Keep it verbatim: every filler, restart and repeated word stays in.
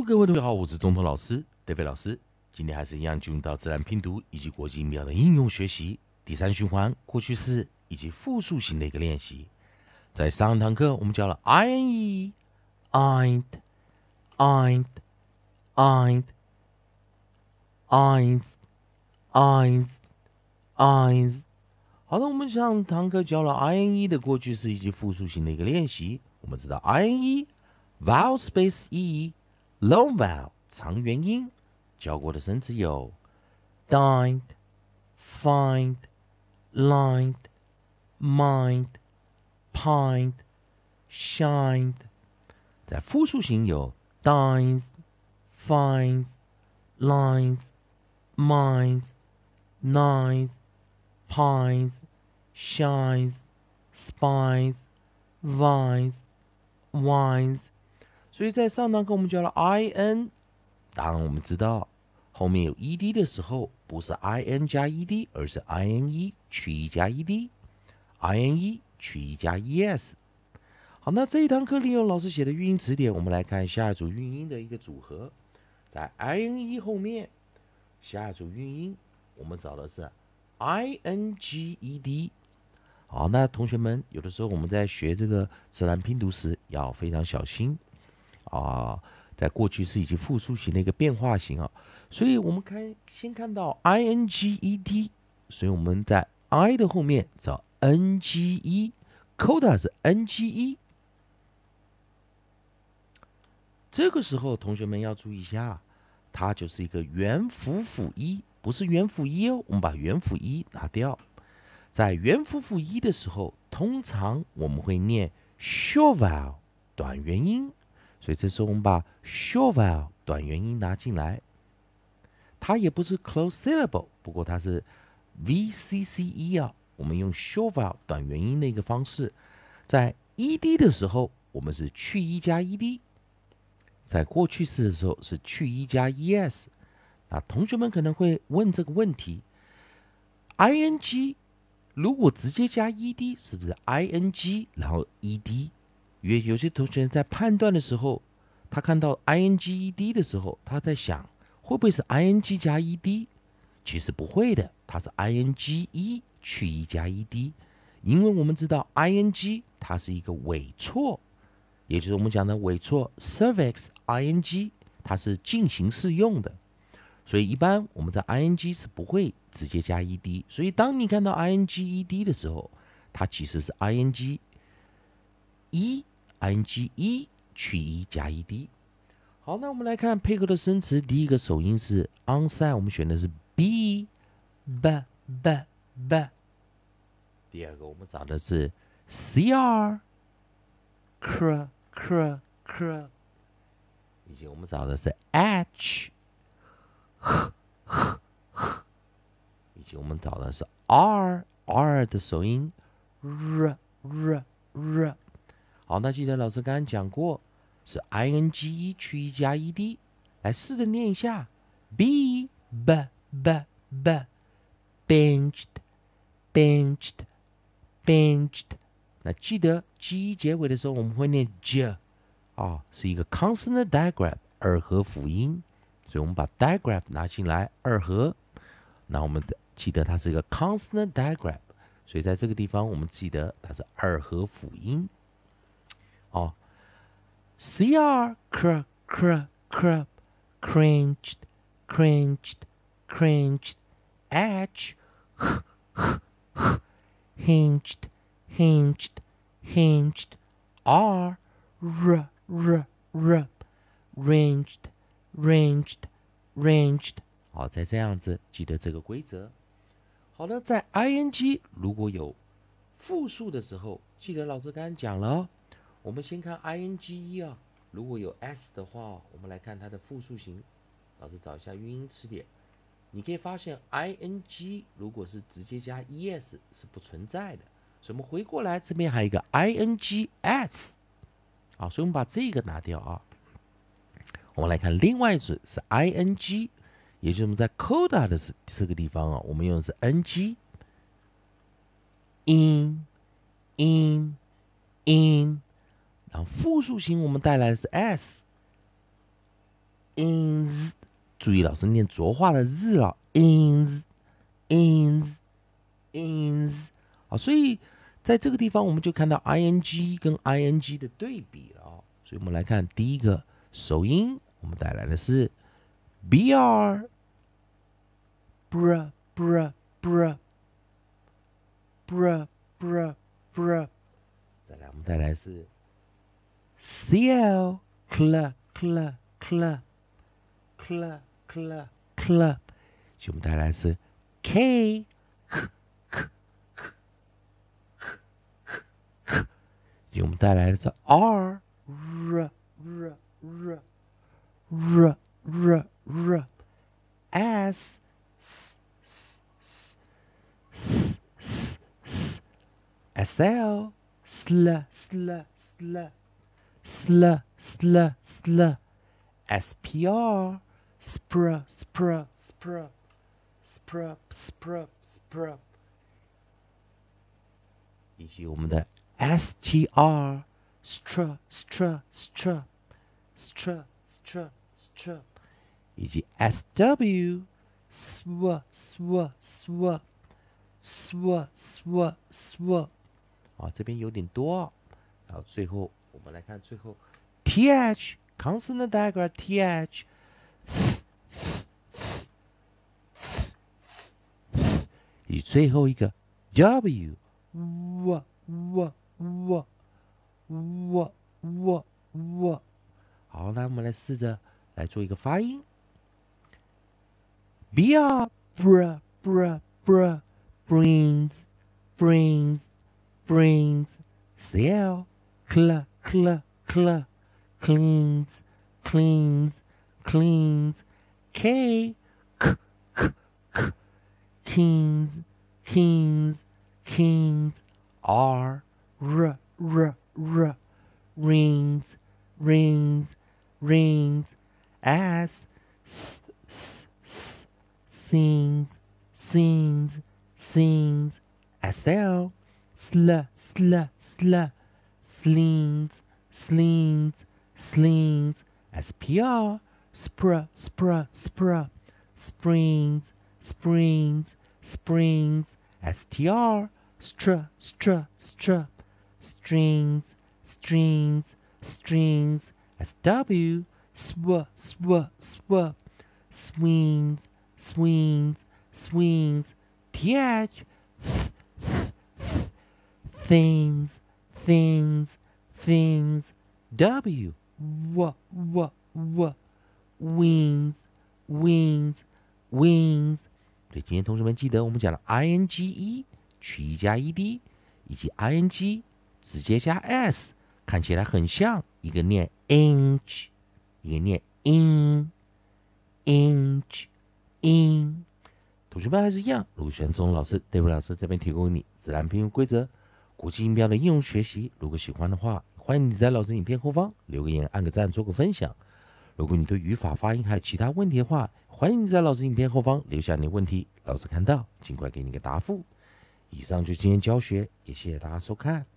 各位同学好，我是中通老师 David 老师。今天还是一样进入到自然拼读以及国际音标的应用学习第三循环过去式以及复数型的一个练习。在上一堂课我们教了 I N E、ain't、ain't、ain't、ain't、ain't、ain't。好的，我们上堂课教了 I N E 的过去式以及复数型的一个练习。我们知道 I N E vowel space E long vowel 长元音。教过的生词有 dined、find、lined、mind、pined、shined。在复数型有 dines、finds、lines、minds、nines、pines、shines、spies、vines、wines。所以在上堂课我们教了 I N， 当然我们知道后面有 ed 的时候，不是 in 加 ed， 而是 ine 去 e 加 ed，ine 去 e 加 es。好，那这一堂课利用老师写的语音词典，我们来看下一组韵音的一个组合。在 ine 后面，下一组韵音我们找的是 inged。好，那同学们，有的时候我们在学这个自然拼读时要非常小心啊，在过去式以及复数型的一个变化型啊，所以我们看先看到 inged， 所以我们在 I 的后面找 nge，coda 是 nge。这个时候同学们要注意一下，它就是一个元辅辅一，不是元辅一哦，我们把元辅一拿掉。在元辅辅一的时候，通常我们会念 short vowel 短元音，所以这时候我们把 short vowel 短元音拿进来。它也不是 close syllable， 不过它是 V C C E 啊，我们用 short vowel 短元音的一个方式。在 ed 的时候，我们是去 e 加 ed， 在过去式的时候是去 e 加 es。那同学们可能会问这个问题 ：ing 如果直接加 ed， 是不是 ing 然后 ed？ 因为有些同学在判断的时候，他看到 ing ed 的时候，他在想会不会是 ing 加 ed？ 其实不会的，它是 ing e 去 e 加 ed， 因为我们知道 ing 它是一个尾错，也就是我们讲的尾错 suffix ing， 它是进行式用的。所以一般我们在 ing 是不会直接加 ed， 所以当你看到 ing ed 的时候，它其实是 ing e ing e 去 e 加 ed。好，那我们来看配合的生词，第一个首音是 onside， 我们选的是 b b b b。第二个我们找的是 cr cr cr cr， 以及我们找的是 h h h h， 以及我们找的是 r r 的首音 r r r。好，那记得老师刚刚讲过是 ing 去 e 加 ed， 来试着念一下 b b b b benched benched benched。那记得 g 结尾的时候我们会念 j 啊，是一个 consonant digraph 二合辅音，所以我们把 digraph 拿进来二合。那我们记得它是一个 consonant digraph， 所以在这个地方我们记得它是二合辅音。哦 ，cr cr cr cr cringed cringed cringed h h h h hinged hinged hinged r r r r ranged ranged ranged。好，再这样子记得这个规则。好了，在 ing 如果有复数的时候，记得老师刚刚讲了哦。我们先看 ing 啊，如果有 s 的话，我们来看它的复数型。老师找一下韵音词典，你可以发现 ing 如果是直接加 es 是不存在的，所以我们回过来这边还有一个 ings， 好，所以我们把这个拿掉啊。我们来看另外一组是 ing， 也就是我们在 coda 的这个地方啊，我们用的是 ng in in in。然后复数型我们带来的是 s 注意老师念浊化的日了 ，ins ins ins 好，所以在这个地方我们就看到 ing 跟 ing 的对比了啊。所以我们来看第一个首音，我们带来的是 br br br br br br br， 再来我们带来的是 cl cl cl cl cl cl cl， 所以我们带来的是 k k k k k k， 所以我们带来的是 r r r r r r r s s s s s s s sl sl sl sl sl sl sl spr spr spr spr spr spr spr， 以及我们的 str str str str str str str， 以及 sw sw sw sw sw sw sw， 啊，这边有点多哦。然后最后我们来看最后 th consonant diagram th， 以及最后一个 w w w w w w w。好，那我们来试着来做一个发音 ，br br br br brings brings brings cl cl cl cl cleans cleans cleans k k k k kings kings kings r r r r rings rings rings as s s s sings sings sings sl sl sl sl slings slings slings spr spr spr spr springs springs springs str str str str strings strings strings sw sw sw sw swings swings swings th things things things w w w w wings wings wings。 对，今天同学们记得我们讲了 ing 取一加 ed， 以及 ing 直接加 s， 看起来很像，一个念 inch， 一个念 in inch in。 同学们还是一样，如果喜欢中文老师 David 老师这边提供给你自然拼音规则、国际音标的应用学习，如果喜欢的话，欢迎你在老师影片后方留个言、按个赞、做个分享。如果你对语法、发音还有其他问题的话，欢迎你在老师影片后方留下你的问题，老师看到尽快给你个答复。以上就是今天教学，也谢谢大家收看。